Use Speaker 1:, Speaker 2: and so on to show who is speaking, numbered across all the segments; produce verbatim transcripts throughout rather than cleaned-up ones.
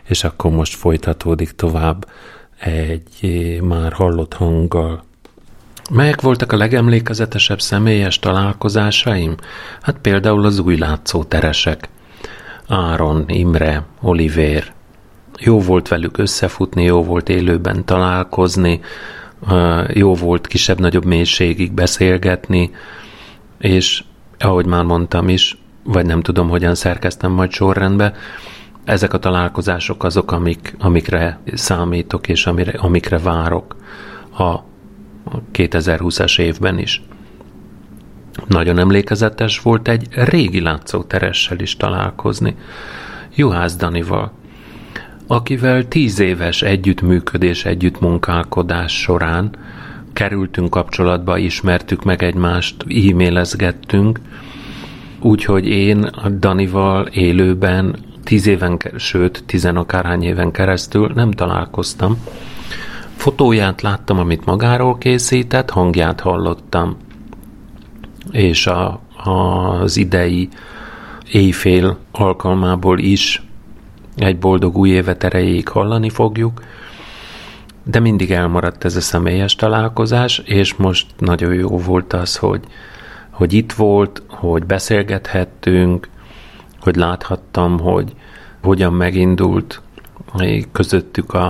Speaker 1: és akkor most folytatódik tovább egy már hallott hanggal. Melyek voltak a legemlékezetesebb személyes találkozásaim? Hát például az új látszóteresek. Áron, Imre, Olivér. Jó volt velük összefutni, jó volt élőben találkozni, jó volt kisebb-nagyobb mélységig beszélgetni, és ahogy már mondtam is, vagy nem tudom, hogyan szerkeztem majd sorrendbe, ezek a találkozások azok, amik, amikre számítok, és amire, amikre várok a kétezer-húszas évben is. Nagyon emlékezetes volt egy régi látszóteressel is találkozni, Juhász Danival, akivel tíz éves együttműködés, együttmunkálkodás során kerültünk kapcsolatba, ismertük meg egymást, e-mailezgettünk, úgyhogy én a Danival élőben tíz éven, sőt, tizenakárhány éven keresztül nem találkoztam. Fotóját láttam, amit magáról készített, hangját hallottam, és a, az idei éjfél alkalmából is egy boldog új évet erejéig hallani fogjuk, de mindig elmaradt ez a személyes találkozás, és most nagyon jó volt az, hogy, hogy itt volt, hogy beszélgethettünk, hogy láthattam, hogy hogyan megindult közöttük a,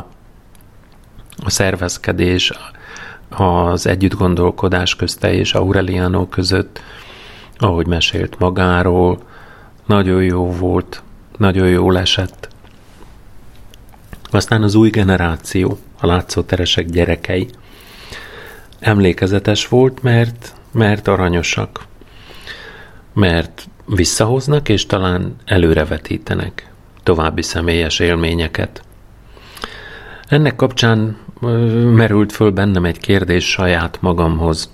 Speaker 1: a szervezkedés, az együttgondolkodás közte és Aureliano között, ahogy mesélt magáról, nagyon jó volt, nagyon jól esett. Aztán az új generáció, a látszóteresek gyerekei. Emlékezetes volt, mert, mert aranyosak, mert visszahoznak, és talán előrevetítenek további személyes élményeket. Ennek kapcsán merült föl bennem egy kérdés saját magamhoz.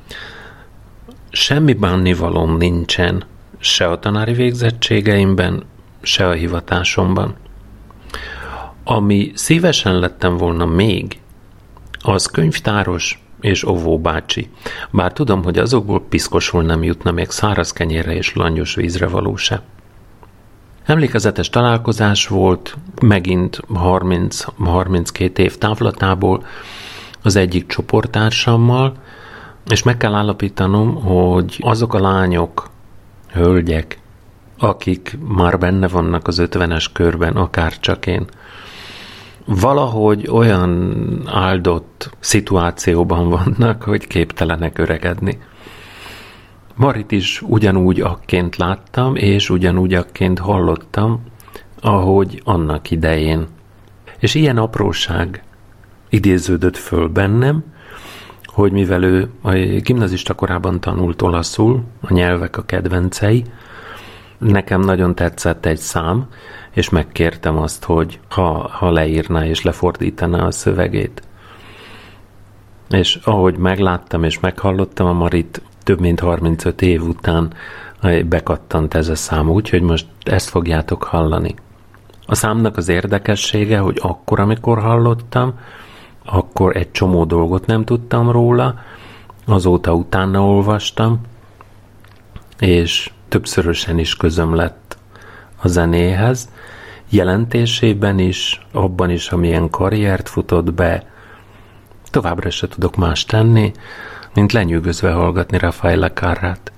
Speaker 1: Semmi bánnivalóm nincsen se a tanári végzettségeimben, se a hivatásomban. Ami szívesen lettem volna még, az könyvtáros és óvóbácsi. Bár tudom, hogy azokból piszkosul nem jutna még száraz kenyérre és langyos vízre való se. Emlékezetes találkozás volt, megint harminc-harminckét év távlatából az egyik csoporttársammal, és meg kell állapítanom, hogy azok a lányok, hölgyek, akik már benne vannak az ötvenes körben, akár csak én, valahogy olyan áldott szituációban vannak, hogy képtelenek öregedni. Marit is ugyanúgy akként láttam, és ugyanúgy akként hallottam, ahogy annak idején. És ilyen apróság idéződött föl bennem, hogy mivel ő a gimnazista korában tanult olaszul, a nyelvek a kedvencei, nekem nagyon tetszett egy szám, és megkértem azt, hogy ha, ha leírná és lefordítaná a szövegét. És ahogy megláttam és meghallottam a Marit, több mint harmincöt év után bekattant ez a szám, úgyhogy most ezt fogjátok hallani. A számnak az érdekessége, hogy akkor, amikor hallottam, akkor egy csomó dolgot nem tudtam róla, azóta utána olvastam, és többszörösen is közöm lett a zenéhez, jelentésében is, abban is, amilyen karriert futott be. Továbbra se tudok más tenni, mint lenyűgözve hallgatni Raffaella Carrát.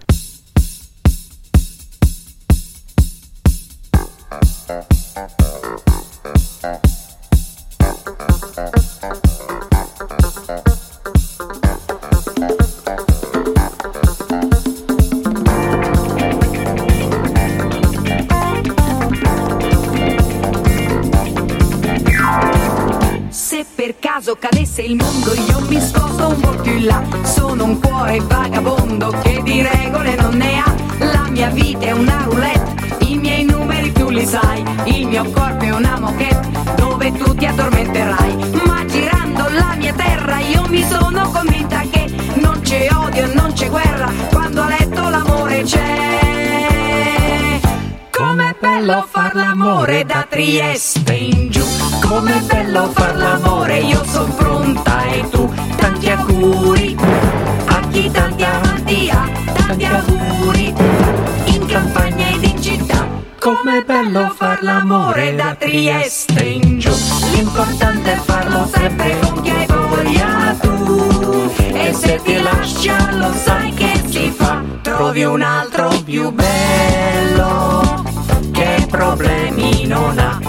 Speaker 2: Cadesse il mondo io mi sposto un po' più in là, sono un cuore vagabondo che di regole non ne ha, la mia vita è una roulette, i miei numeri tu li sai, il mio corpo è una moquette dove tu ti addormenterai, ma girando la mia terra io mi sono convinta che non c'è odio e non c'è guerra, quando a letto l'amore c'è. Com'è bello far l'amore da Trieste in giù, com'è bello far l'amore, io son pronta e tu, tanti auguri, a chi tanti avanti ha, tanti auguri, in campagna ed in città, con Com'è bello far l'amore da Trieste in giù. L'importante è farlo sempre con chi hai voglia tu. E se ti lascia lo sai che si fa. Trovi un altro più bello che problemi non ha.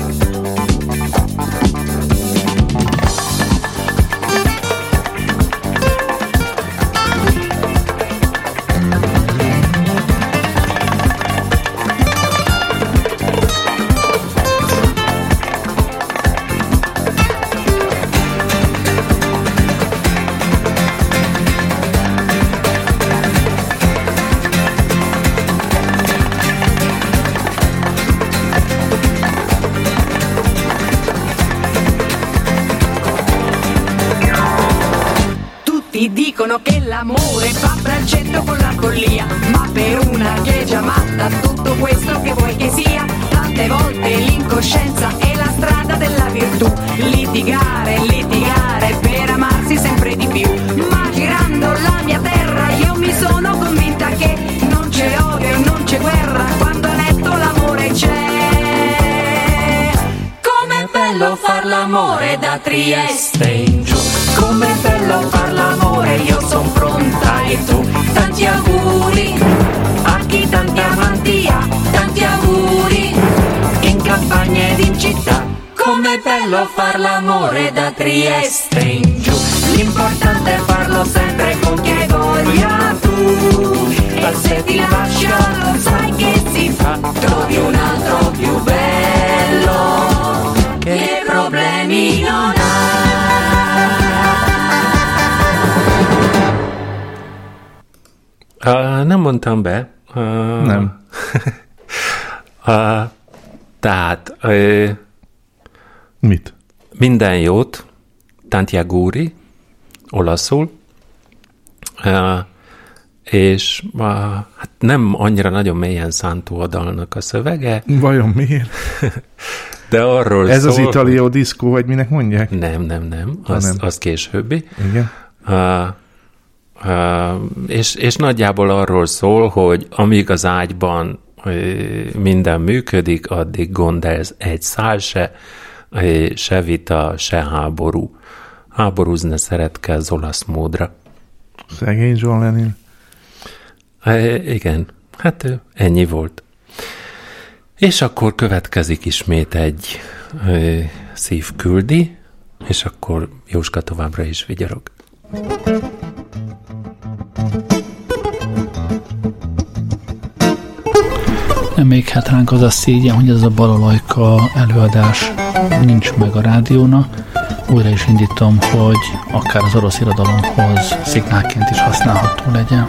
Speaker 2: Dicono che l'amore fa braccetto con la follia, ma per una che è già matta tutto questo che vuoi che sia. Tante volte l'incoscienza è la strada della virtù. Litigare, litigare per amarsi sempre di più. Ma girando la mia terra io mi sono convinta che non c'è odio e non c'è guerra quando a letto l'amore c'è. Com'è bello far l'amore da Trieste in giù. Com'è bello far l'amore, io son pronta e tu. Tanti auguri a chi tanti amanti ha. Tanti auguri in campagna ed in città. Com'è bello far l'amore da Trieste in giù. L'importante è farlo sempre con chi hai voglia tu. E se ti lascia lo sai che si fa. Trovi un altro più bello che problemi non ha.
Speaker 1: Uh, nem mondtam be. Uh,
Speaker 3: nem.
Speaker 1: uh, tehát uh,
Speaker 3: mit?
Speaker 1: Minden jót, tanti auguri, olaszul, uh, és uh, hát nem annyira nagyon mélyen szántó a dalnak a szövege.
Speaker 3: Vajon miért?
Speaker 1: De arról
Speaker 3: Ez
Speaker 1: szól,
Speaker 3: az Italio diszkó, vagy minek mondják?
Speaker 1: Nem, nem, nem. Az,
Speaker 3: nem.
Speaker 1: az későbbi.
Speaker 3: Igen.
Speaker 1: Uh, Uh, és, és nagyjából arról szól, hogy amíg az ágyban uh, minden működik, addig gond ez egy szál se, uh, se vita, se háború. Háborúzni szeretke az olasz módra.
Speaker 3: Szegény John Lennon.
Speaker 1: Uh, igen, hát uh, ennyi volt. És akkor következik ismét egy uh, szívküldi, és akkor Jóska továbbra is vigyorog.
Speaker 4: Még hát ránk az a szégyen, hogy ez a Balalajka előadás nincs meg a rádióna. Újra is indítom, hogy akár az orosz irodalomhoz szignálként is használható legyen.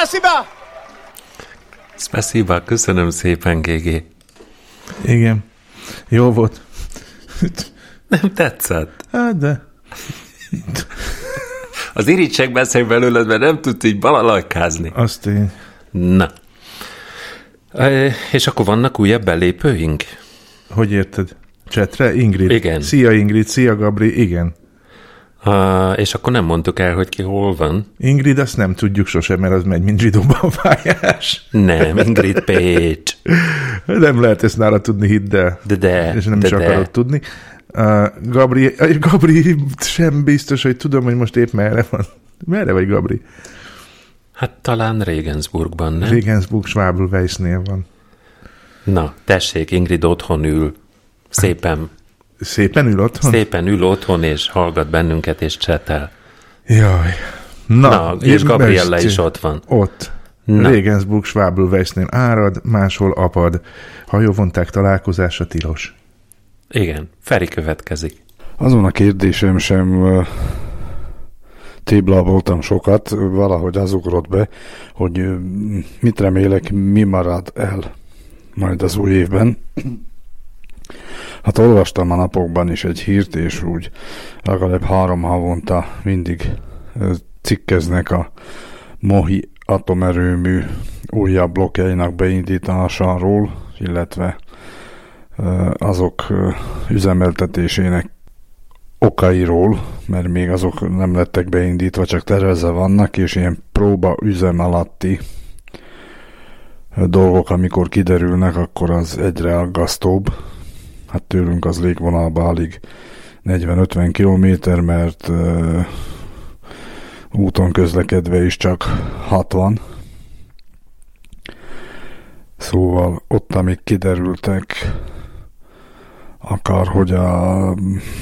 Speaker 5: Spasiba!
Speaker 1: Spasiba, köszönöm szépen, gé gé.
Speaker 3: Igen. Jó volt.
Speaker 1: Nem tetszett.
Speaker 3: Hát de...
Speaker 1: Az irítség beszél belőled, mert nem tudsz így balalajkázni.
Speaker 3: Azt én.
Speaker 1: Na. E, és akkor vannak újabb belépőink?
Speaker 3: Hogy érted? Csetre? Ingrid?
Speaker 1: Igen.
Speaker 3: Szia Ingrid, szia Gabri, igen.
Speaker 1: Uh, és akkor nem mondtuk el, hogy ki hol van.
Speaker 3: Ingrid, azt nem tudjuk sosem, mert az megy, mint zsidóban pályás.
Speaker 1: Nem, Ingrid Pécs.
Speaker 3: Nem lehet ezt nála tudni, hidd el.
Speaker 1: De de.
Speaker 3: És nem
Speaker 1: de
Speaker 3: is
Speaker 1: de.
Speaker 3: akarod tudni. Uh, Gabri, Gabri sem biztos, hogy tudom, hogy most épp merre van. Merre vagy, Gabri?
Speaker 1: Hát talán Regensburgban, nem?
Speaker 3: Regensburg Schwabelweissnél van.
Speaker 1: Na, tessék, Ingrid otthon ül. Szépen.
Speaker 3: Szépen ül otthon?
Speaker 1: Szépen ül otthon, és hallgat bennünket, és csetel.
Speaker 3: Jaj. Na,
Speaker 1: Na és Gabriella is ott van.
Speaker 3: Ott.
Speaker 1: Na.
Speaker 3: Regensburg Schwabelweissnél árad, máshol apad. Hajóvonták találkozása tilos.
Speaker 1: Igen, Feri következik.
Speaker 6: Azon a kérdésem sem uh, tébláboltam sokat, valahogy az ugrott be, hogy uh, mit remélek, mi marad el majd az új évben. Hát olvastam a napokban is egy hírt, és úgy legalább három havonta mindig uh, cikkeznek a Mohi atomerőmű újabb blokkjainak beindításáról, illetve azok üzemeltetésének okairól, mert még azok nem lettek beindítva, csak tervezve vannak, és ilyen próba üzem alatti dolgok, amikor kiderülnek, akkor az egyre aggasztóbb. Hát tőlünk az légvonalba alig negyven-ötven kilométer, mert uh, úton közlekedve is csak hatvan. Szóval ott, amik kiderültek, akár hogy a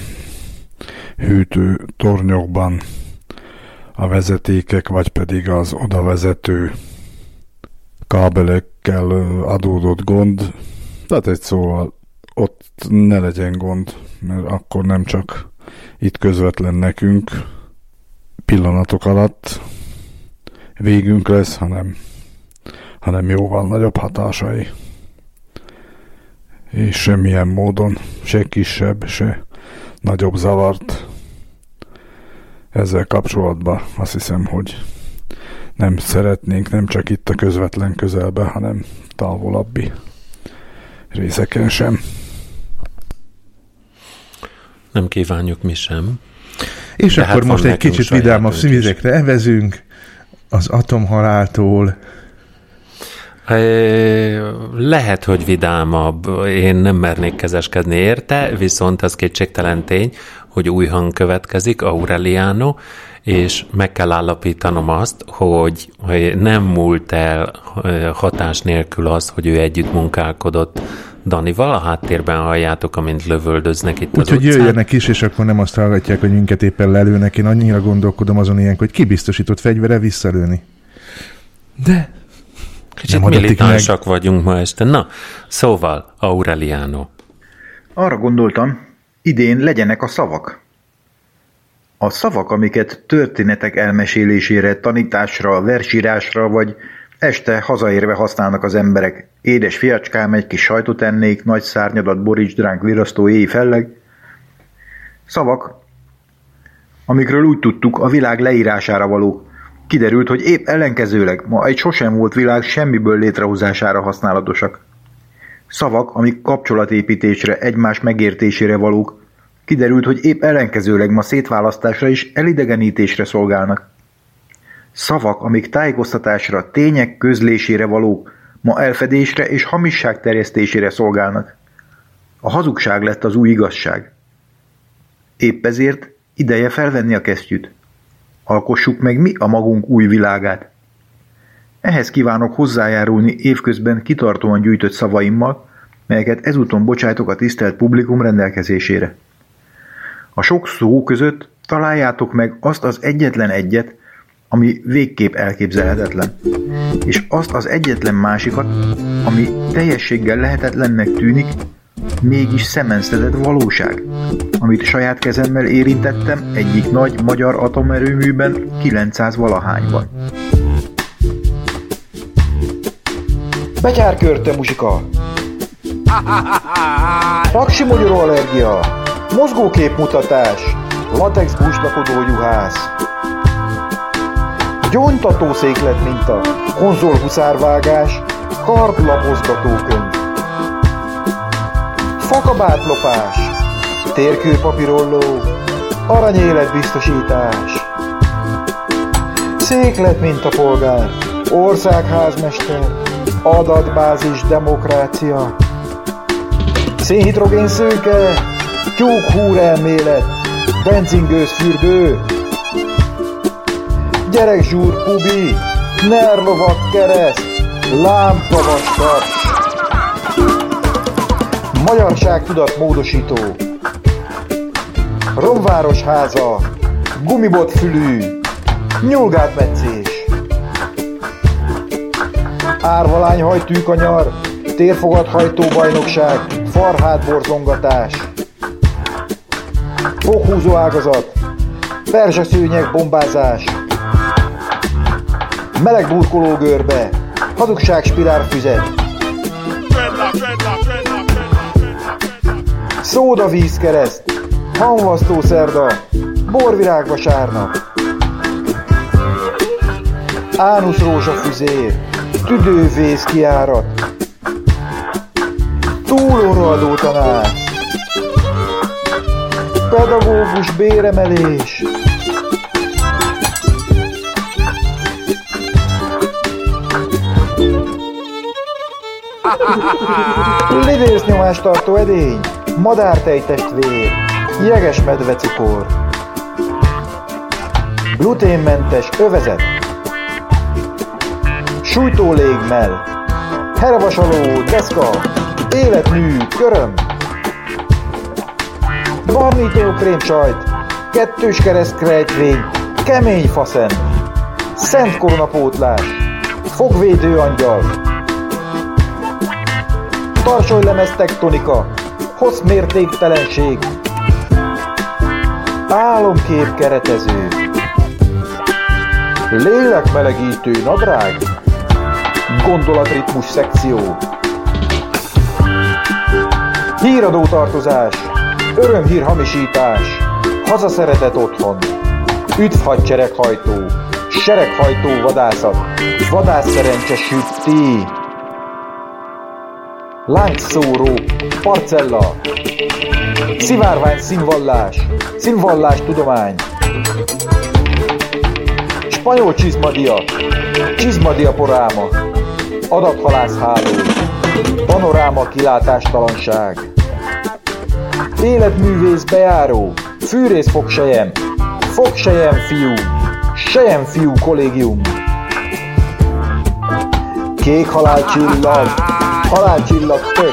Speaker 6: hűtő tornyokban a vezetékek, vagy pedig az oda vezető kábelekkel adódott gond. Tehát egy szóval ott ne legyen gond, mert akkor nem csak itt közvetlen nekünk pillanatok alatt végünk lesz, hanem, hanem jóval nagyobb hatásai. És semmilyen módon se kisebb, se nagyobb zavart ezzel kapcsolatban azt hiszem, hogy nem szeretnénk nem csak itt a közvetlen közelben, hanem távolabbi részeken sem.
Speaker 1: Nem kívánjuk mi sem.
Speaker 3: És
Speaker 1: de
Speaker 3: akkor
Speaker 1: hát
Speaker 3: most egy kicsit vidámabb vizekre evezünk az atomhaláltól.
Speaker 1: Lehet, hogy vidámabb. Én nem mernék kezeskedni érte, viszont az kétségtelen tény, hogy új hang következik, Aureliano, és meg kell állapítanom azt, hogy nem múlt el hatás nélkül az, hogy ő együtt munkálkodott Danival. A háttérben halljátok, amint lövöldöznek itt Úgy, az
Speaker 3: utcán. Úgyhogy jöjjenek is, és akkor nem azt hallgatják, hogy minket éppen lelőnek. Én annyira gondolkodom azon ilyen, hogy kibiztosított fegyvere visszalőni. De...
Speaker 1: Kicsit militánsak vagyunk ma este. Na, szóval, Aureliano.
Speaker 7: Arra gondoltam, idén legyenek a szavak. A szavak, amiket történetek elmesélésére, tanításra, versírásra, vagy este hazaérve használnak az emberek. Édes fiacskám, egy kis sajtot ennék, nagy szárnyadat borítsd ránk virasztó éj felleg. Szavak, amikről úgy tudtuk, a világ leírására valók. Kiderült, hogy épp ellenkezőleg ma egy sosem volt világ semmiből létrehozására használatosak. Szavak, amik kapcsolatépítésre, egymás megértésére valók. Kiderült, hogy épp ellenkezőleg ma szétválasztásra és elidegenítésre szolgálnak. Szavak, amik tájékoztatásra, tények közlésére valók, ma elfedésre és hamisság terjesztésére szolgálnak. A hazugság lett az új igazság. Épp ezért ideje felvenni a kesztyűt. Alkossuk meg mi a magunk új világát. Ehhez kívánok hozzájárulni évközben kitartóan gyűjtött szavaimmal, melyeket ezúton bocsájtok a tisztelt publikum rendelkezésére. A sok szó között találjátok meg azt az egyetlen egyet, ami végképp elképzelhetetlen, és azt az egyetlen másikat, ami teljességgel lehetetlennek tűnik, mégis szemenszedett valóság, amit saját kezemmel érintettem egyik nagy magyar atomerőműben kilencszáz valahányban. Betyárkörte muzsika. Paksi mogyoró allergia. Mozgóképmutatás. Latex búslakodó juhász. Gyóntató széklet minta. Konzol huszárvágás. Kardlapozgatókönyv. Fakabátlopás. Térkőpapírolló. Aranyéletbiztosítás. Széklet mintapolgár. Országházmester. Adatbázis demokrácia. Szénhidrogén szőke. Tyúkhúr elmélet. Benzingőzfürdő. Gyerekzsúr pubi. Nerlovak kereszt. Lámpavastas. Magyarságtudat módosító. Romváros háza. Gumibot fülű. Nyulgátmetszés. Árvalány hajtűkanyar. Térfogathajtó bajnokság. Farhátborzongatás. Foghúzó ágazat. Perzsaszőnyeg bombázás. Meleg burkoló görbe. Hazugság spirálfüzet. Szóda vízkereszt. Hamvasztó szerda. Borvirág vasárnap. Ánusz rózsafüzér. Tüdővész kiárat. Túlóraadó tanár. Pedagógus béremelés. Lidésznyomás tartó edény. Madártejtestvér. Jeges medvecukor. Gluténmentes övezet. Sújtó légmell. Hervasaló deszka. Életmű köröm. Barnító krémsajt. Kettős keresztkrejtvény. Kemény faszen. Szent koronapótlás. Fogvédő angyal. Tarsolylemez tektonika. Hosszmértéktelenség. Álomkép keretező. Lélekmelegítő nadrág. Gondolatritmus szekció. Híradó tartozás. Örömhír hamisítás. Hazaszeretett otthon. Üdv hadsereghajtó. Sereghajtó vadászat. Vadászszerencse sütti. Láncszóró. Parcella. Szivárvány színvallás. Színvallás tudomány. Spanyol csizmadia. Csizmadia poráma. Adathalászháló. Panoráma kilátástalanság. Életművész bejáró. Fűrész fogsejem. Fogsejem fiú. Sejem fiú kollégium. Kék halálcsillag. Halálcsillag tök.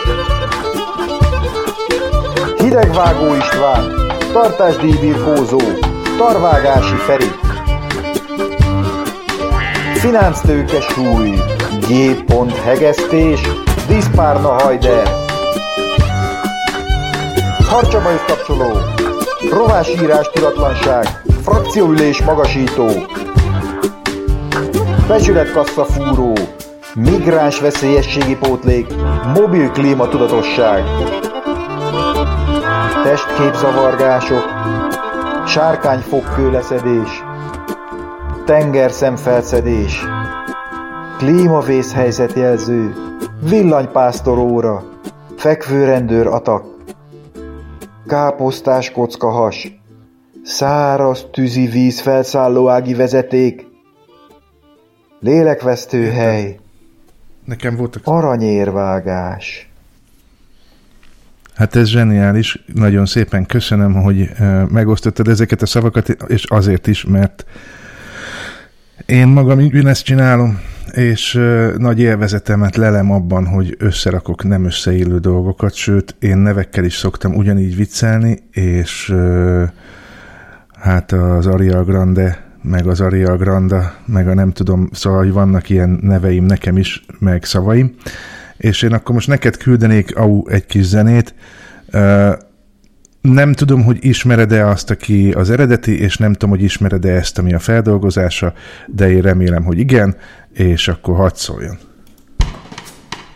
Speaker 7: Hidegvágó István. Tartásdíjbirkózó. Tarvágási Feri. Finánctőke súly. G-pont hegesztés. Diszpárna hajder. Harcsabajusz kapcsoló. Rovásírás tudatlanság. Frakcióülés magasító. Becsületkasszafúró. Migráns veszélyességi pótlék. Mobil klímatudatosság. Testképzavargások. Sárkányfogkőleszedés. Tengerszemfelszedés. Klímavészhelyzetjelző. Villanypásztoróra. Fekvőrendőr atak. Káposztás kockahas. Száraz tűzi víz felszállóági vezeték. Lélekvesztő hely.
Speaker 3: Nekem voltak...
Speaker 7: Aranyérvágás.
Speaker 3: Hát ez zseniális, nagyon szépen köszönöm, hogy megosztottad ezeket a szavakat, és azért is, mert én magam ugyanezt csinálom, és nagy élvezetemet lelem abban, hogy összerakok nem összeillő dolgokat, sőt, én nevekkel is szoktam ugyanígy viccelni, és hát az Arial Grande, meg az Arial Granda, meg a nem tudom, szóval, hogy vannak ilyen neveim nekem is, meg szavaim, és én akkor most neked küldenék au, egy kis zenét. Nem tudom, hogy ismered-e azt, aki az eredeti, és nem tudom, hogy ismered-e ezt, ami a feldolgozása, de én remélem, hogy igen, és akkor hadd szóljon.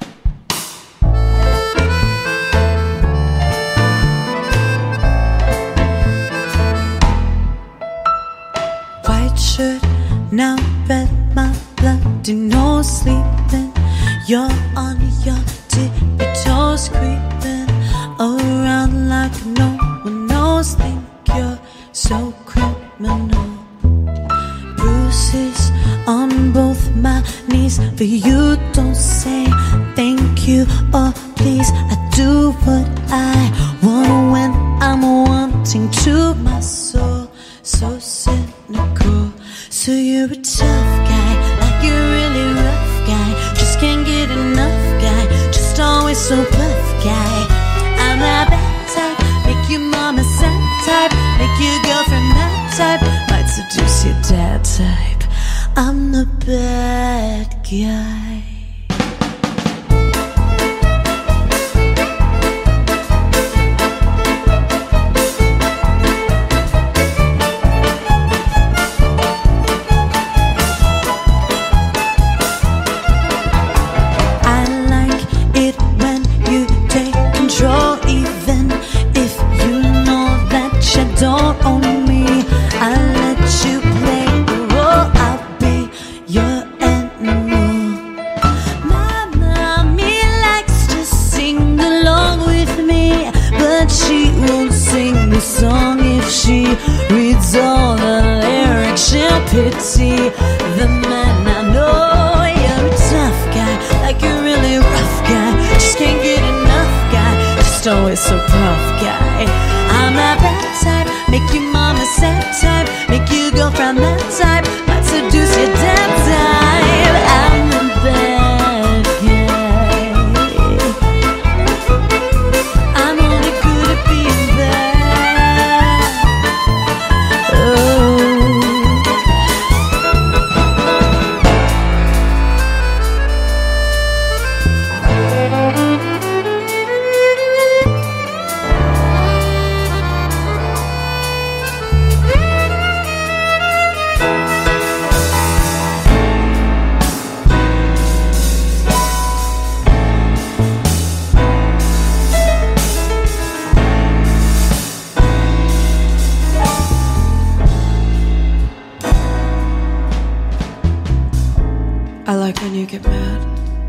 Speaker 5: now red, my bloody no sleeping. You're on your tippy toes, creeping around like no one knows. Think you're so criminal. Bruises on both my knees, but you don't say thank you or please. I do what I want when I'm wanting to. My soul so cynical. So you're a tough guy, like you're really rough guy. Just can't get enough guy, just always so buff guy. I'm that bad type, make your mama sad type, make your girlfriend mad type, might seduce your dad type. I'm the bad guy.
Speaker 2: Don't own me, I'll let you play the role. I'll be your animal. My mommy likes to sing along with me, but she won't sing the song if she reads all the lyrics. She'll pity the man I know. You're a tough guy, like a really rough guy. Just can't get enough guy, just always so puff guy. I'm that bad type, make your mama sad type, make your girlfriend that type, might seduce your dad type. I'm the bad guy. I'm only good at being bad. Oh. I like when you get mad.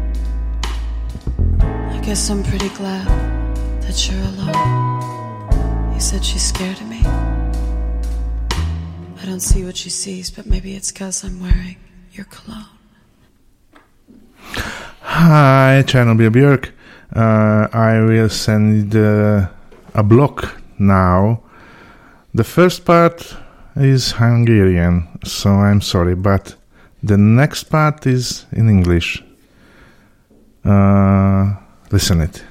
Speaker 2: I guess I'm pretty glad that you're alone. You said she's scared of me. I don't see what she sees, but maybe it's 'cause I'm wearing your cologne.
Speaker 3: Hi, Chernobyl Björk. Uh, I will send uh, a block now. The first part is Hungarian, so I'm sorry, but the next part is in English. Uh, listen it.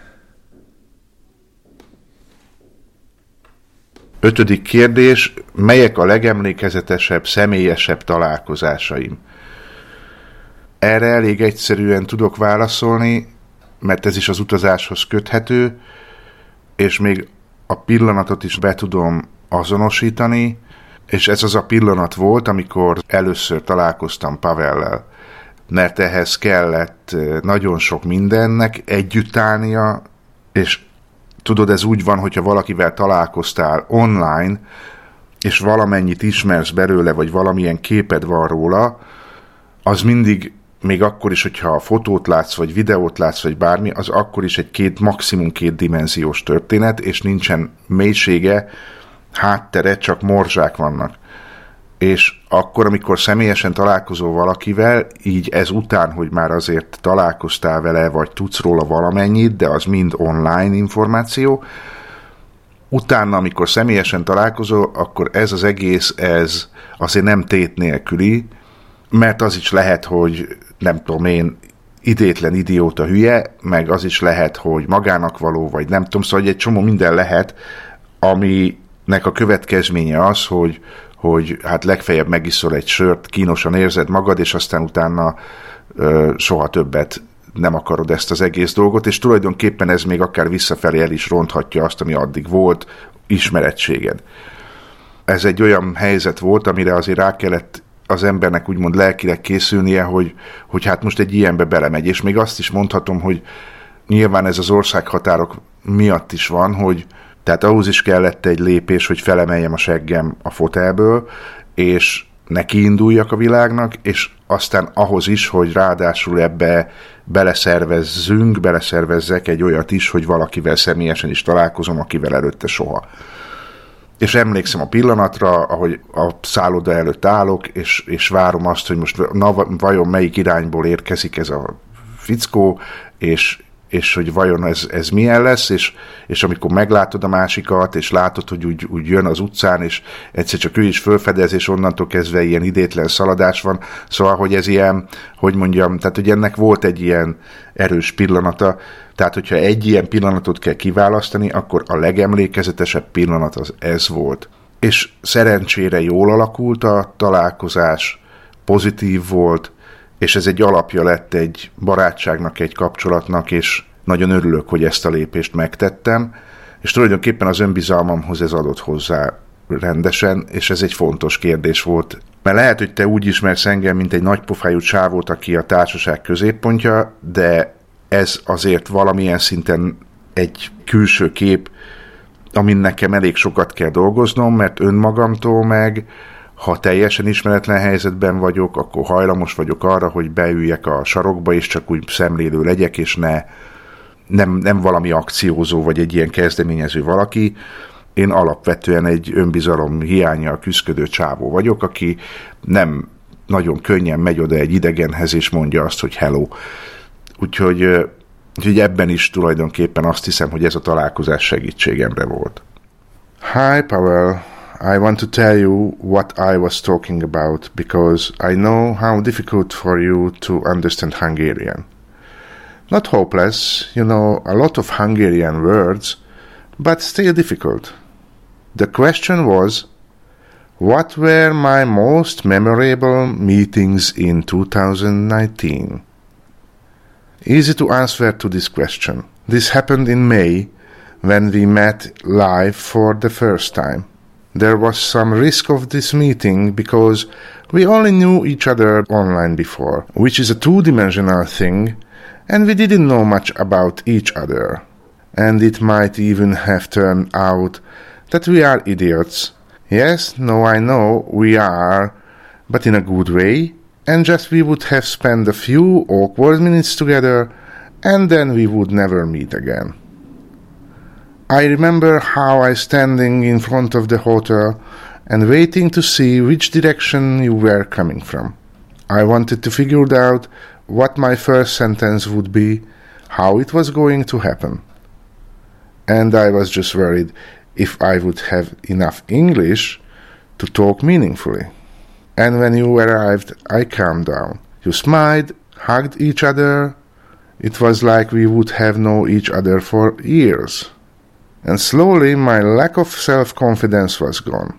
Speaker 8: Ötödik kérdés, melyek a legemlékezetesebb, személyesebb találkozásaim? Erre elég egyszerűen tudok válaszolni, mert ez is az utazáshoz köthető, és még a pillanatot is be tudom azonosítani, és ez az a pillanat volt, amikor először találkoztam Pavellel, mert ehhez kellett nagyon sok mindennek együtt állnia, és tudod, ez úgy van, hogyha valakivel találkoztál online, és valamennyit ismersz belőle, vagy valamilyen képed van róla, az mindig, még akkor is, hogyha fotót látsz, vagy videót látsz, vagy bármi, az akkor is egy két, maximum két dimenziós történet, és nincsen mélysége, háttere, csak morzsák vannak. És akkor, amikor személyesen találkozol valakivel, így ez után, hogy már azért találkoztál vele, vagy tudsz róla valamennyit, de az mind online információ, utána, amikor személyesen találkozol, akkor ez az egész, ez azért nem tét nélküli, mert az is lehet, hogy nem tudom én, idétlen idióta hülye, meg az is lehet, hogy magának való, vagy nem tudom, szóval egy csomó minden lehet, aminek a következménye az, hogy, hogy hát legfeljebb megiszol egy sört, kínosan érzed magad, és aztán utána ö, soha többet nem akarod ezt az egész dolgot, és tulajdonképpen ez még akár visszafelé el is ronthatja azt, ami addig volt, ismerettséged. Ez egy olyan helyzet volt, amire azért rá kellett az embernek úgymond lelkileg készülnie, hogy, hogy hát most egy ilyenbe belemegy, és még azt is mondhatom, hogy nyilván ez az országhatárok miatt is van, hogy tehát ahhoz is kellett egy lépés, hogy felemeljem a seggem a fotelből, és nekiinduljak a világnak, és aztán ahhoz is, hogy ráadásul ebbe beleszervezzünk, beleszervezzek egy olyat is, hogy valakivel személyesen is találkozom, akivel előtte soha. És emlékszem a pillanatra, ahogy a szálloda előtt állok, és, és várom azt, hogy most na, vajon melyik irányból érkezik ez a fickó, és, és hogy vajon ez, ez milyen lesz, és, és amikor meglátod a másikat, és látod, hogy úgy, úgy jön az utcán, és egyszer csak ő is fölfedez, és onnantól kezdve ilyen idétlen szaladás van, szóval, hogy ez ilyen, hogy mondjam, tehát, hogy ennek volt egy ilyen erős pillanata, tehát, hogyha egy ilyen pillanatot kell kiválasztani, akkor a legemlékezetesebb pillanat az ez volt. És szerencsére jól alakult a találkozás, pozitív volt, és ez egy alapja lett egy barátságnak, egy kapcsolatnak, és nagyon örülök, hogy ezt a lépést megtettem, és tulajdonképpen az önbizalmamhoz ez adott hozzá rendesen, és ez egy fontos kérdés volt. Mert lehet, hogy te úgy ismersz engem, mint egy nagypofájú csávót, aki a társaság középpontja, de ez azért valamilyen szinten egy külső kép, amin nekem elég sokat kell dolgoznom, mert önmagamtól meg, ha teljesen ismeretlen helyzetben vagyok, akkor hajlamos vagyok arra, hogy beüljek a sarokba, és csak úgy szemlélő legyek, és ne, nem, nem valami akciózó, vagy egy ilyen kezdeményező valaki. Én alapvetően egy önbizalom hiánnyal küszködő csávó vagyok, aki nem nagyon könnyen megy oda egy idegenhez, és mondja azt, hogy hello. Úgyhogy, úgyhogy ebben is tulajdonképpen azt hiszem, hogy ez a találkozás segítségemre volt. Hi, Pavel. I want to tell you what I was talking about because I know how difficult for you to understand Hungarian. Not hopeless, you know, a lot of Hungarian words, but still difficult. The question was, what were my most memorable meetings in two thousand nineteen? Easy to answer to this question. This happened in May when we met live for the first time. There was some risk of this meeting because we only knew each other online before, which is a two-dimensional thing, and we didn't know much about each other. And it might even have turned out that we are idiots. Yes, no, I know, we are, but in a good way, and just we would have spent a few awkward minutes together, and then we would never meet again. I remember how I standing in front of the hotel and waiting to see which direction you were coming from. I wanted to figure out what my first sentence would be, how it was going to happen. And I was just worried if I would have enough English to talk meaningfully. And when you arrived, I calmed down. You smiled, hugged each other. It was like we would have known each other for years. And slowly my lack of self-confidence was gone.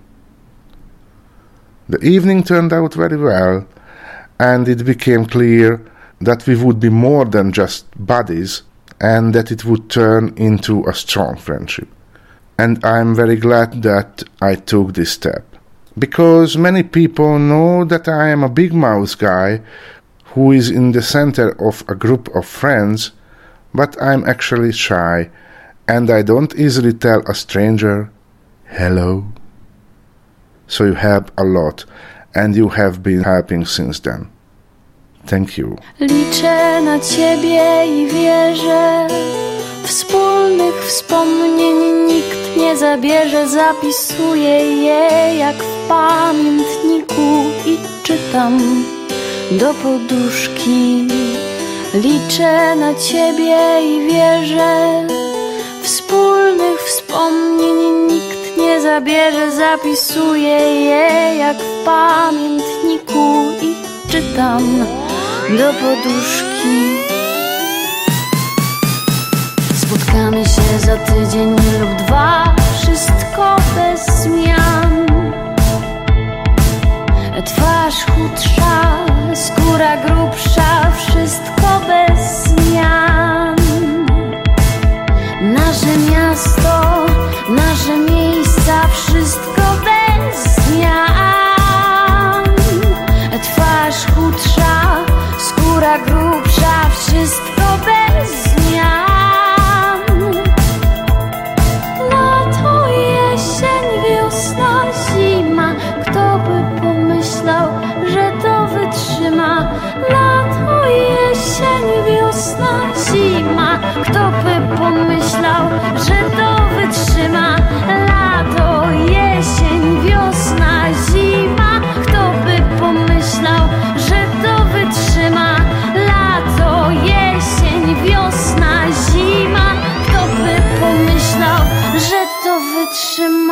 Speaker 8: The evening turned out very well, and it became clear that we would be more than just buddies, and that it would turn into a strong friendship. And I'm very glad that I took this step. Because many people know that I am a big mouth guy who is in the center of a group of friends, but I'm actually shy, and I don't easily tell a stranger, hello. So you help a lot, and you have been helping since then. Thank you.
Speaker 9: Liczę na ciebie i wierzę, wspólnych wspomnień nikt nie zabierze. Zapisuję je jak w pamiętniku i czytam do poduszki. Liczę na ciebie i wierzę, wspólnych wspomnień nikt nie zabierze. Zapisuję je jak w pamiętniku i czytam do poduszki. Spotkamy się za tydzień lub dwa, wszystko bez zmian. Twarz chudsza, skóra grubsza, wszystko bez zmian. Nasze miasto, nasze miejsca, wszystko bez zmian. Twarz chudsza, skóra grubsza, wszystko bez zmian. Lato, jesień,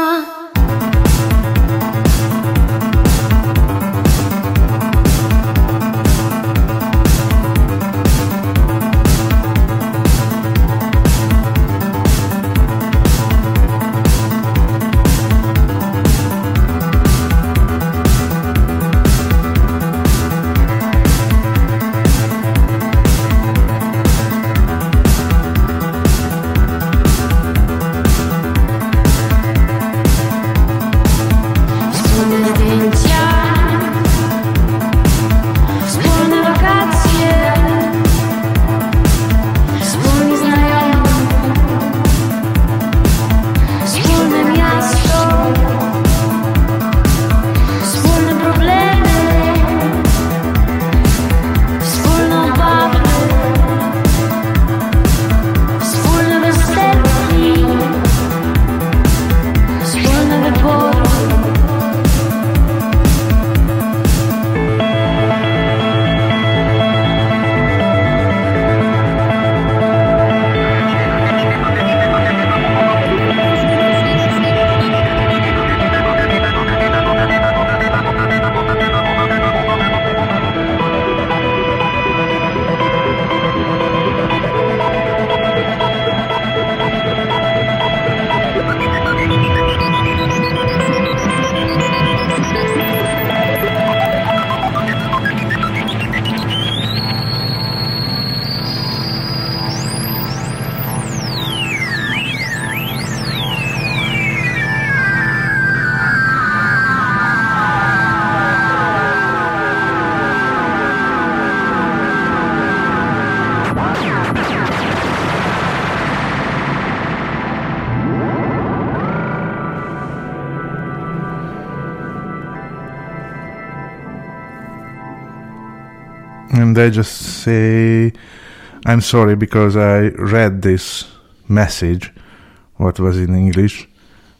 Speaker 3: And I just say, I'm sorry because I read this message, what was in English,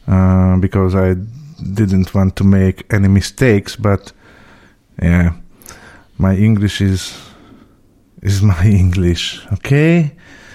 Speaker 3: uh, because I didn't want to make any mistakes, but yeah, my English is is my English, okay?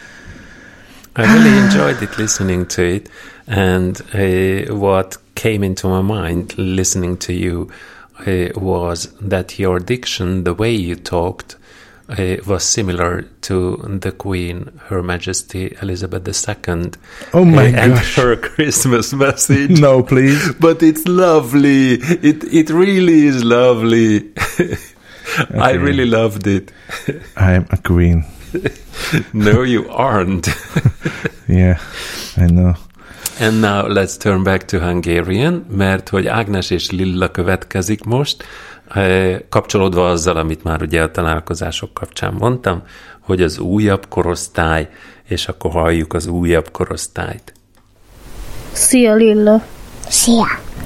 Speaker 1: I really enjoyed it, listening to it, and uh, what came into my mind listening to you uh, was that your diction, the way you talked, uh, was similar to the Queen, Her Majesty Elizabeth the Second.
Speaker 3: Oh my
Speaker 1: uh, and
Speaker 3: gosh.
Speaker 1: her Christmas message.
Speaker 3: No, please.
Speaker 1: But it's lovely. It it really is lovely. Okay. I really loved it.
Speaker 3: I'm a queen.
Speaker 1: No, you aren't.
Speaker 3: Yeah, I know.
Speaker 1: And now let's turn back to Hungarian, mert hogy Ágnes és Lilla következik most, kapcsolódva azzal, amit már ugye a találkozások kapcsán mondtam, hogy az újabb korosztály, és akkor halljuk az újabb korosztályt.
Speaker 10: Szia, Lilla!
Speaker 11: Szia!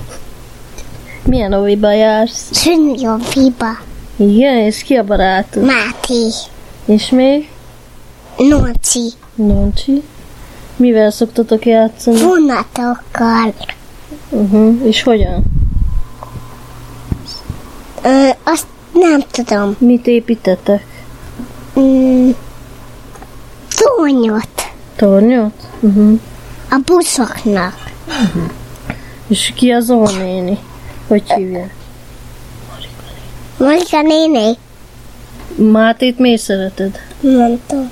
Speaker 10: Milyen óviba jársz?
Speaker 11: Szűnyi óviba.
Speaker 10: Igen, és ki a barátod?
Speaker 11: Máté.
Speaker 10: És még?
Speaker 11: Nóci.
Speaker 10: Nóci. Mivel szoktatok játszani?
Speaker 11: Vonatokkal.
Speaker 10: Uh-huh. És hogyan?
Speaker 11: Ö, azt nem tudom.
Speaker 10: Mit építetek?
Speaker 11: Mm, tornyot.
Speaker 10: Tornyot? Uh-huh.
Speaker 11: A buszoknak.
Speaker 10: Uh-huh. És ki az ónéni? Hogy hívják?
Speaker 11: Marika néni.
Speaker 10: Mátét miért szereted?
Speaker 11: Nem tudom.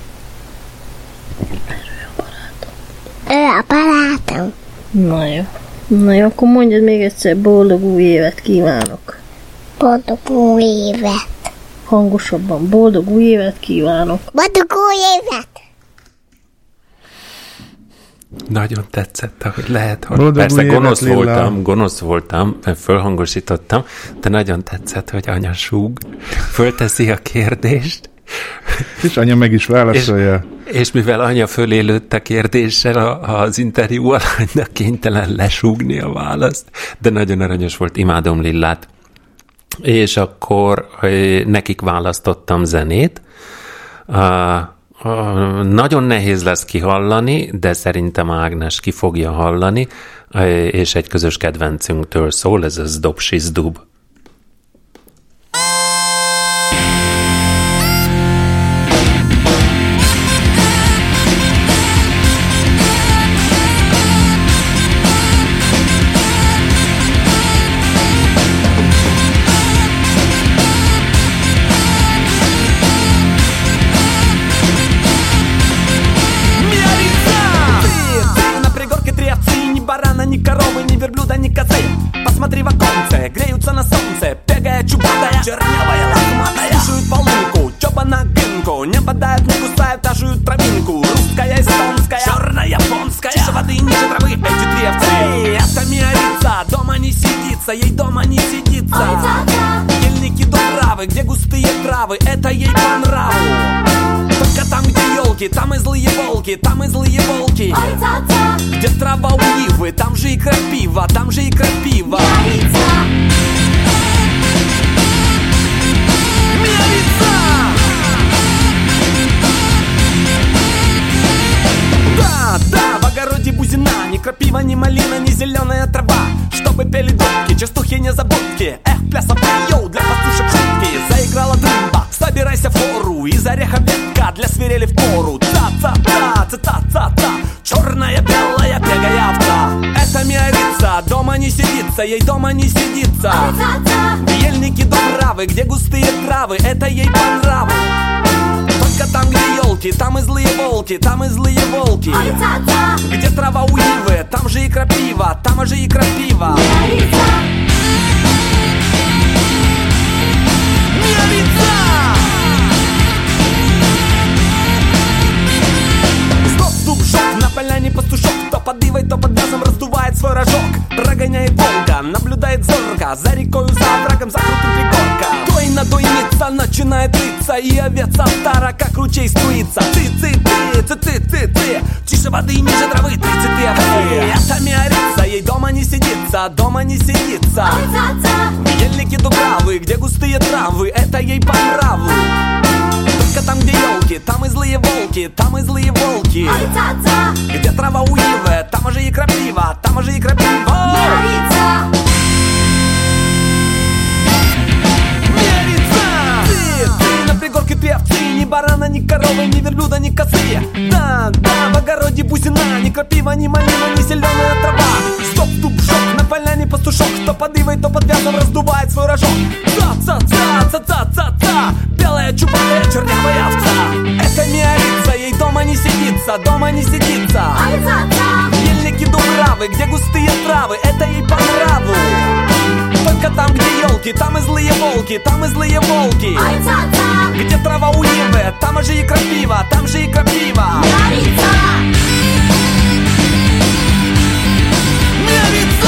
Speaker 11: Ő a barátom.
Speaker 10: Na jó. Na jó, akkor mondjad még egyszer, boldog új évet kívánok.
Speaker 11: Boldog új évet.
Speaker 10: Hangosabban, boldog új évet kívánok.
Speaker 11: Boldog új évet.
Speaker 1: Nagyon tetszett, ahogy lehet. Hogy
Speaker 3: Boldog
Speaker 1: persze gonosz
Speaker 3: évet,
Speaker 1: voltam,
Speaker 3: Lilla.
Speaker 1: gonosz voltam, mert fölhangosítottam, de nagyon tetszett, hogy anya súg, fölteszi a kérdést.
Speaker 3: És anya meg is válaszolja.
Speaker 1: És, és mivel anya fölé lőtte kérdéssel a, az interjú alanynak kénytelen lesúgni a választ, de nagyon aranyos volt, imádom Lillát. És akkor nekik választottam zenét. Uh, uh, nagyon nehéz lesz kihallani, de szerintem Ágnes ki fogja hallani, uh, és egy közös kedvencünktől szól, ez a Zdub Sizdub.
Speaker 12: коровы, ни верблюда, ни козы. Посмотри в оконце, греются на солнце, бегая чубатая, чернявая, лохматая. Слушают волынку, чоба на гынку, не бодают, не кусают, а жуют травинку. Русская, эстонская, черная, японская. Тише воды, ниже травы, эти три овцы. Эй, это миорица, дома не сидится, ей дома не сидится. Ельники дубравы, где густые травы, это ей по нраву. Только там, где елки, там и злые волки, там и злые волки. Где трава у ивы, там же и крапива, там же и крапива. Миорица! Да, да, в огороде бузина, ни крапива, ни малина, ни зеленая трава. Чтобы пели дудки, частухи, незабудки. Эх, плясов йоу, для пастушек шутки. Заиграла дымба, собирайся в хору. Из ореха ветка для свирели в пору. Ца-ца-ца, ца-ца-ца-ца. Черная, белая, бегая овца. Это миорица, дома не сидится, ей дома не сидится. Ельники дубравы, где густые травы, это ей по нраву. Только там, где елки, там и злые волки, там и злые волки. Где трава у ивы, там же и крапива, там же и крапива. Миорица! Стоп-стоп-шок, на поляне пастушок. То под ивой, то под газом раздувает свой рожок. Прогоняет волка, наблюдает зорко. За рекою, за оврагом, за крутым пригорком. Той на дойница начинает литься, и овец стара, как ручей струится. Ты-ты-ты, ты-ты-ты-ты. Тише воды, ниже травы, тридцать овцы. Это миорица, ей дома не сидится, дома не сидится. Ельники дубравы, где густые травы, это ей по нраву. Только там, где елки, там и злые волки, там и злые волки. Где трава у ивы, там же и крапива, там же и крапива. Миорица! Миорица! Ты, ты на пригорке три овцы, ни барана, ни коровы, ни верблюда, ни косы. Да, да, в огороде бузина, ни крапива, ни малина, ни зеленая трава. Стоп, туп, шок, на поляне пастушок. То под ивой, то под вязом раздувает свой рожок. Ца-ца-ца, ца-ца-ца-ца. Белая, чубатая, чернявая овца. Это миорица, ей дома не сидится, дома не сидится. Ельники дубравы, где густые травы, это ей по нраву. Только там, где елки, там и злые волки, там и злые волки. Где трава у ивы, там же и крапива, там же и крапива. Миорица! Миорица!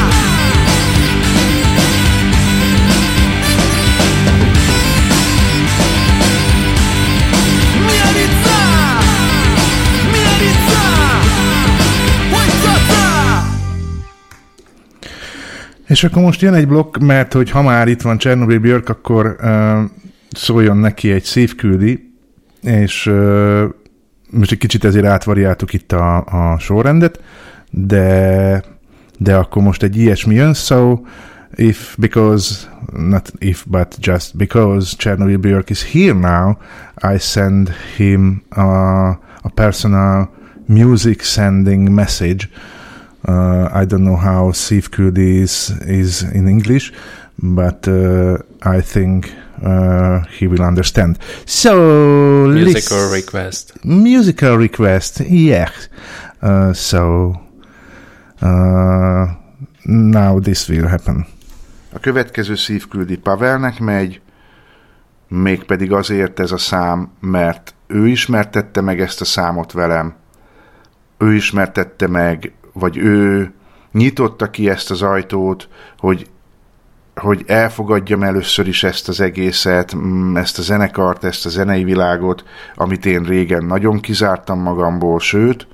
Speaker 3: És akkor most jön egy blokk, mert hogy ha már itt van Chernobyl Björk, akkor uh, szóljon neki egy szívküldi, és uh, most egy kicsit ezért átvariáltuk itt a, a sorrendet, de, de akkor most egy ilyesmi jön, so if, because, not if, but just because Chernobyl Björk is here now, I send him uh, a personal music sending message. Uh, I don't know how szívküldi is, is in English, but uh, I think uh, he will understand. So,
Speaker 1: musical
Speaker 3: listen,
Speaker 1: request.
Speaker 3: Musical request, yes. Uh, so, uh, now this will happen.
Speaker 8: A következő szívküldi Pavelnek megy, mégpedig azért ez a szám, mert ő ismertette meg ezt a számot velem. Ő ismertette meg, vagy ő nyitotta ki ezt az ajtót, hogy, hogy elfogadjam először is ezt az egészet, ezt a zenekart, ezt a zenei világot, amit én régen nagyon kizártam magamból, sőt,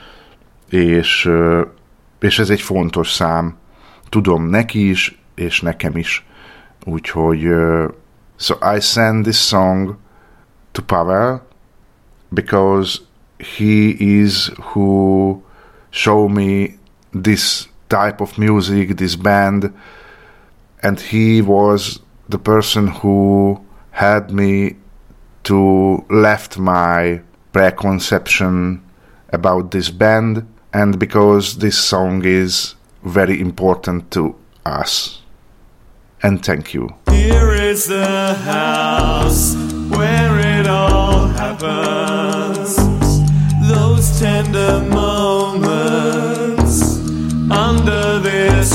Speaker 8: és, és ez egy fontos szám. Tudom neki is, és nekem is. Úgyhogy so I send this song to Pavel because he is who show me this type of music, this band, and he was the person who helped me to left my preconception about this band, and because this song is very important to us. And thank you.
Speaker 13: Here is the house where it all happens. Those tender moments under under this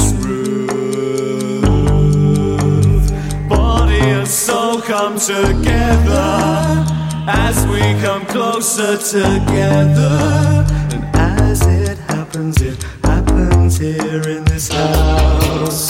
Speaker 13: roof. Body and soul come together as we come closer together. And as it happens, it happens here in this house.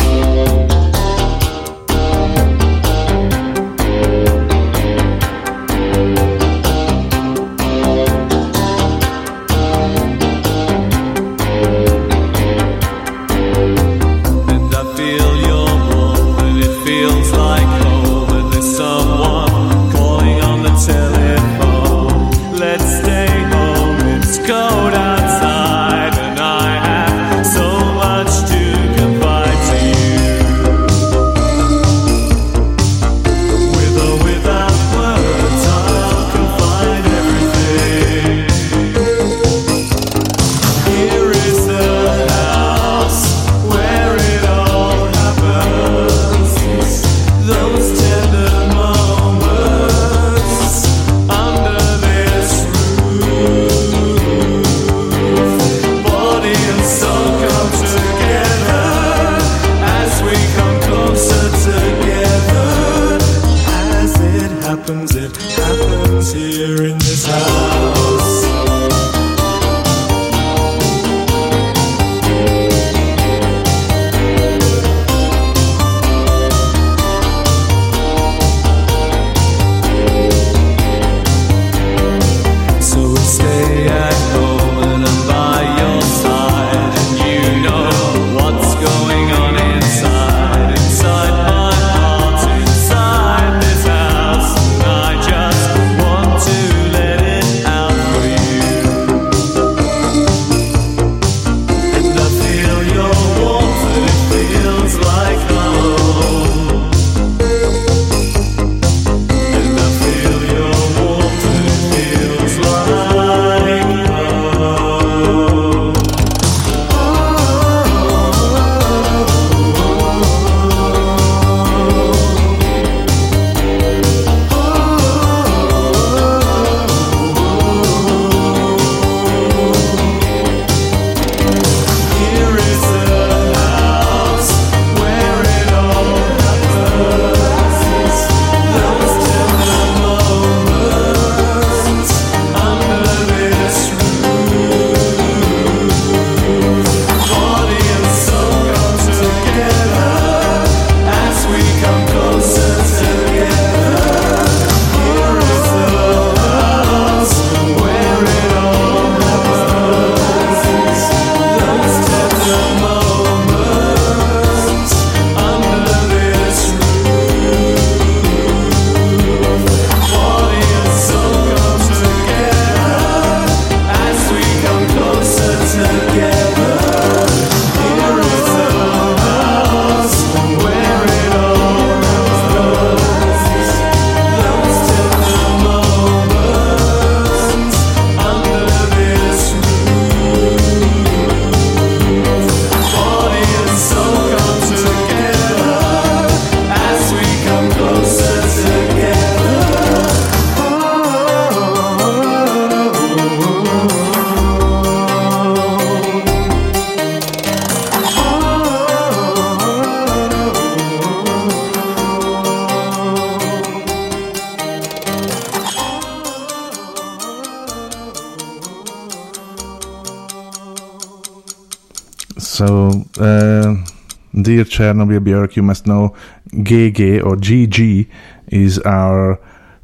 Speaker 3: So, uh, dear Chernobyl Björk, you must know G G or G G is our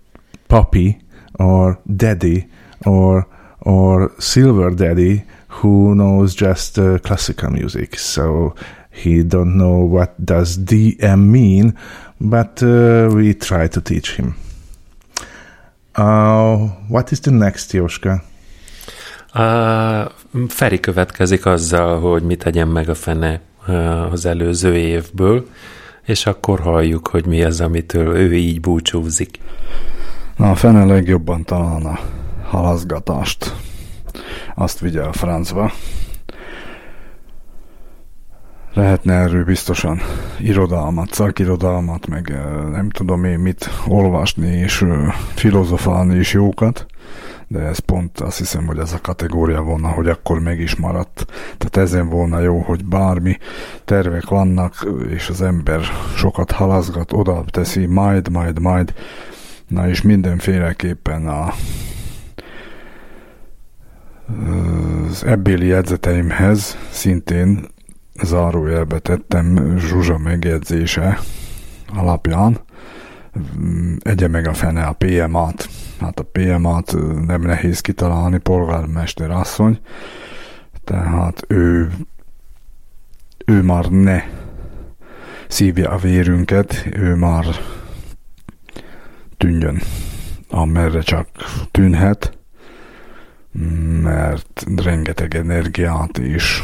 Speaker 3: puppy or daddy or or silver daddy who knows just uh, classical music. So he don't know what does D M mean, but uh, we try to teach him. Uh, what is the next, Jóska?
Speaker 1: Uh, Feri következik azzal, hogy mit tegyen meg a fene uh, az előző évből, és akkor halljuk, hogy mi az, amitől ő így búcsúzik.
Speaker 6: Na, a fene legjobban talán a halaszgatást. Azt vigye a francba. Lehetne erről biztosan irodalmat, szakirodalmat, meg nem tudom én mit olvasni és filozofálni is jókat, de ez pont azt hiszem, hogy ez a kategória volna, hogy akkor meg is maradt. Tehát ezen volna jó, hogy bármi tervek vannak, és az ember sokat halaszgat, oda teszi, majd, majd, majd, na és mindenféleképpen a az ebbéli jegyzeteimhez szintén zárójelbe tettem Zsuzsa megjegyzése alapján, egye meg a fene a pé em á-t. Hát a pé em á-t nem nehéz kitalálni, polgármester asszony, tehát ő ő már ne szívja a vérünket, ő már tűnjön, amerre csak tűnhet, mert rengeteg energiát is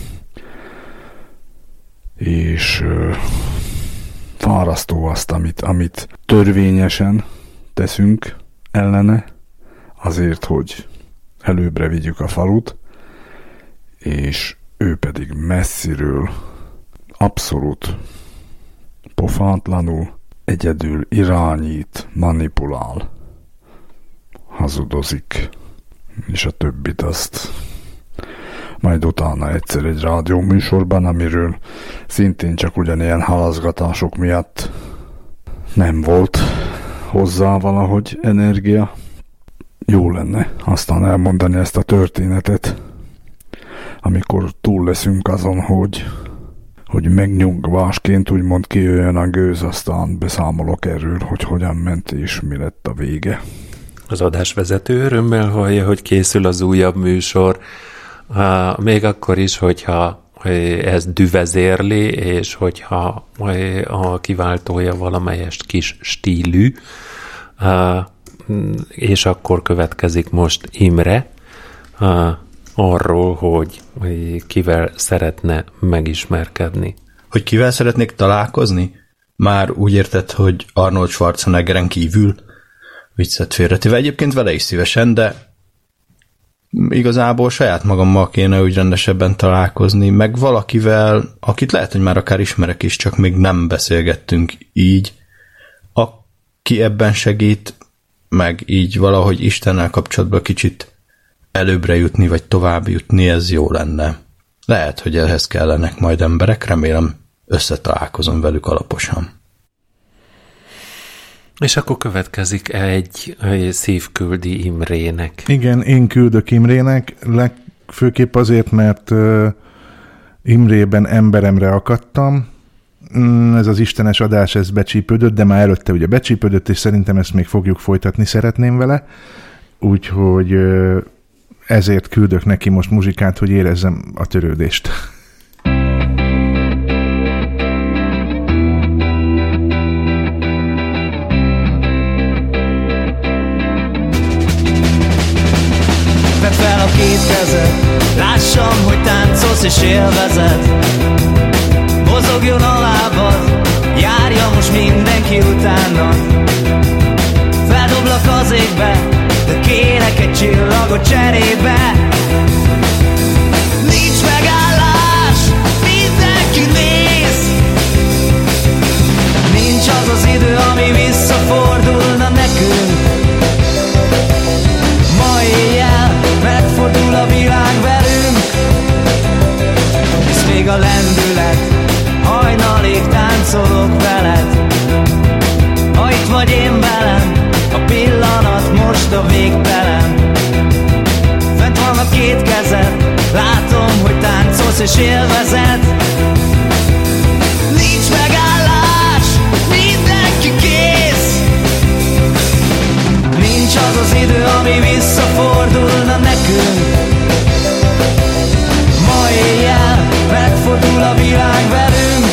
Speaker 6: és fárasztó azt, amit, amit törvényesen teszünk ellene, azért, hogy előbbre vigyük a falut, és ő pedig messziről abszolút pofátlanul egyedül irányít, manipulál, hazudozik, és a többit azt majd utána egyszer egy rádióműsorban, amiről szintén csak ugyanilyen halaszgatások miatt nem volt hozzá valahogy energia. Jó lenne aztán elmondani ezt a történetet, amikor túl leszünk azon, hogy, hogy megnyugvásként úgymond kijöjjön a gőz, aztán beszámolok erről, hogy hogyan ment és mi lett a vége.
Speaker 1: Az adásvezető örömmel hallja, hogy készül az újabb műsor, még akkor is, hogyha ez düvezérli, és hogyha a kiváltója valamelyest kis stílű, és akkor következik most Imre arról, hogy kivel szeretne megismerkedni.
Speaker 14: Hogy kivel szeretnék találkozni? Már úgy érted, hogy Arnold Schwarzeneggeren kívül? Viccet félretéve. Egyébként vele is szívesen, de igazából saját magammal kéne úgy rendesebben találkozni, meg valakivel, akit lehet, hogy már akár ismerek is, csak még nem beszélgettünk így, aki ebben segít, meg így valahogy Istennel kapcsolatban kicsit előbbre jutni, vagy tovább jutni, ez jó lenne. Lehet, hogy ehhez kellenek majd emberek, remélem összetalálkozom velük alaposan.
Speaker 1: És akkor következik egy, egy szívküldi Imrének.
Speaker 3: Igen, én küldök Imrének, legfőképp azért, mert uh, Imrében emberemre akadtam. Mm, ez az istenes adás, ez becsípődött, de már előtte ugye becsípődött, és szerintem ezt még fogjuk folytatni, szeretném vele. Úgyhogy uh, ezért küldök neki most muzsikát, hogy érezzem a törődést.
Speaker 13: Tedd fel a két kezed, lássam, hogy táncolsz és élvezed. Mozogjon a lábad, járja most mindenki utána. Feldoblak az égbe, de kérek egy csillagot cserébe. Nincs megállás, mindenki néz. Nincs az az idő, ami visszafordulna nekünk. Ma éjjel megfordul a világ velünk. Ez még a lendület, hajnalig táncolok veled. Ha itt vagy én velem, a pillanat most a végtelen. Fent van a két kezed, látom, hogy táncolsz és élvezed. Nincs megállás, mindenki kész. Nincs az az idő, ami visszafordulna nekünk. Ma éjjel megfordul a világ velünk.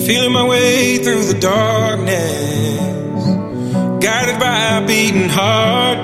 Speaker 15: feeling my way through the darkness, guided by a beating heart.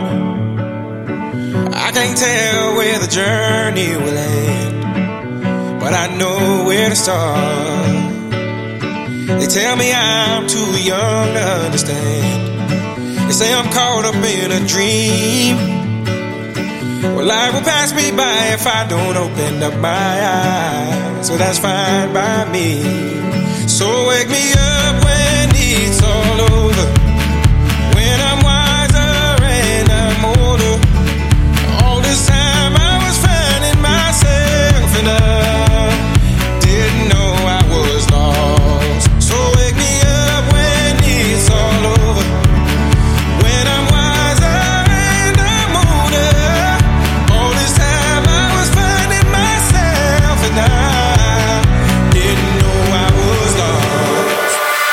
Speaker 15: I can't tell where the journey will end, but I know where to start. They tell me I'm too young to understand. They say I'm caught up in a dream. Well, life will pass me by if I don't open up my eyes. So that's fine by me. So wake me up when it's all over, when I'm wiser and I'm older. All this time I was finding myself and I didn't know I was lost. So wake me up when it's all over, when I'm wiser and I'm older. All this time I was finding myself and I didn't know I was lost.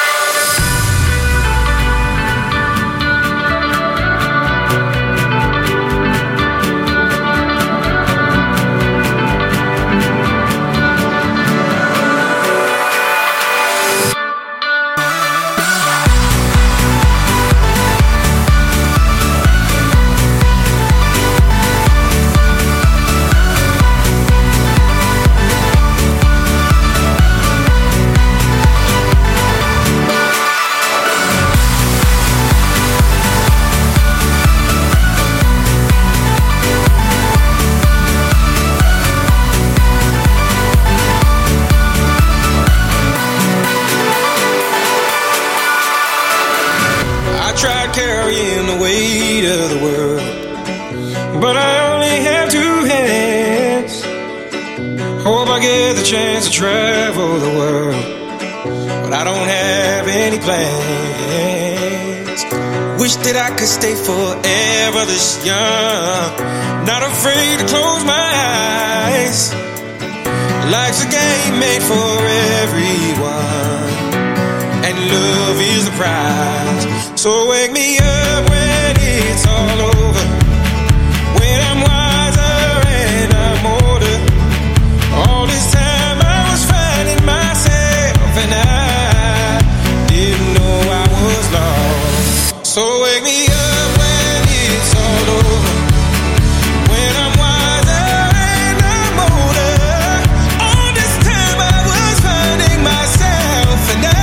Speaker 15: Carrying the weight of the world, but I only have two hands. Hope I get the chance to travel the world, but I don't have any plans. Wish that I could stay forever this young, not afraid to close my eyes. Life's a game made for everyone, and love is the prize. So wake me up when it's all over, when I'm wiser and I'm older. All this time I was finding myself and I didn't know I was lost. So wake me up when it's all over, when I'm wiser and I'm older. All this time I was finding myself and I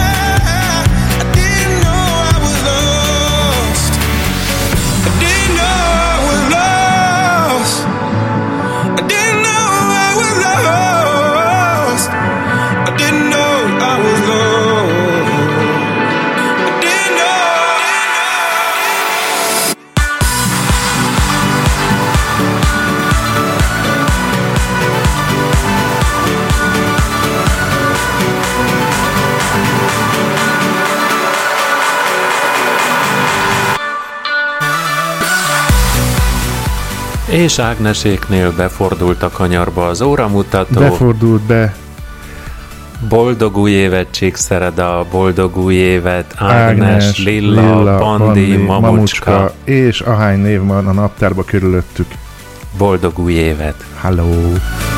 Speaker 1: És Ágneséknél befordult a kanyarba az óramutató.
Speaker 3: Befordult be.
Speaker 1: Boldog új évet, Csíkszereda, boldog új évet, Ágnes,
Speaker 3: Ágnes
Speaker 1: Lilla,
Speaker 3: Lilla,
Speaker 1: Pandi,
Speaker 3: Pandi
Speaker 1: Mamucska.
Speaker 3: Mamucska. És ahány név van a naptárba körülöttük.
Speaker 1: Boldog új évet.
Speaker 3: Hello.